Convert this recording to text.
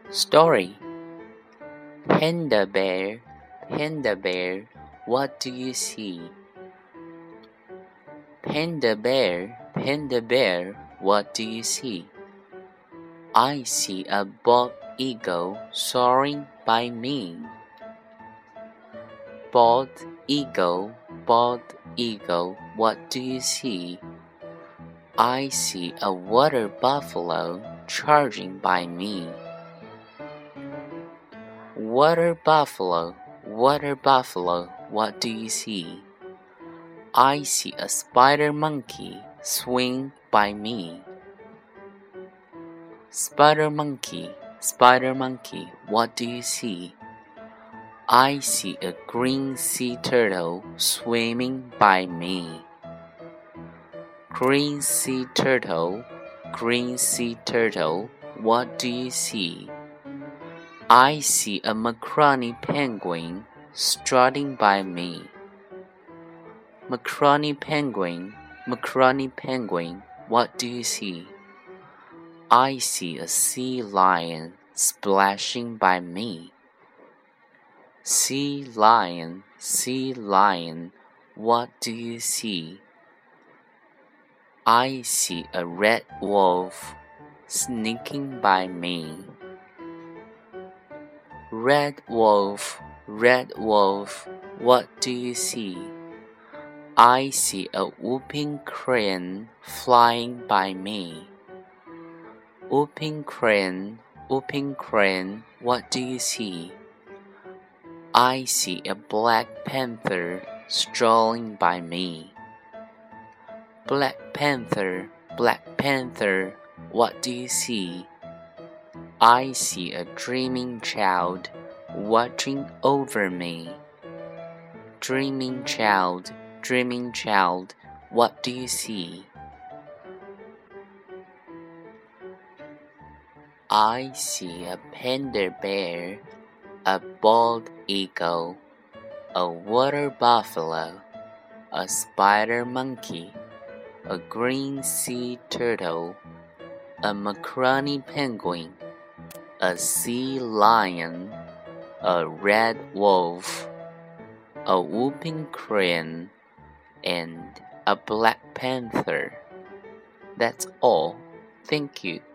Story. Panda bear, panda bear, what do you see? Panda bear, what do you see? I see a bald eagle soaring by me. Bald eagle, what do you see? I see a water buffalo charging by me. Water buffalo, what do you see? I see a spider monkey swing by me. Spider monkey, what do you see? I see a green sea turtle swimming by me. Green sea turtle, what do you see? I see a macaroni penguin strutting by me. Macaroni penguin, what do you see? I see a sea lion splashing by me. Sea lion, what do you see? I see a red wolf sneaking by me. Red wolf, what do you see? I see a whooping crane flying by me. Whooping crane, what do you see? I see a black panther strolling by me. Black panther, what do you see? I see a dreaming child watching over me. Dreaming child, what do you see? I see a panda bear, a bald eagle, a water buffalo, a spider monkey, a green sea turtle, a macaroni penguin, a sea lion, a red wolf, a whooping crane, and a black panther. That's all. Thank you.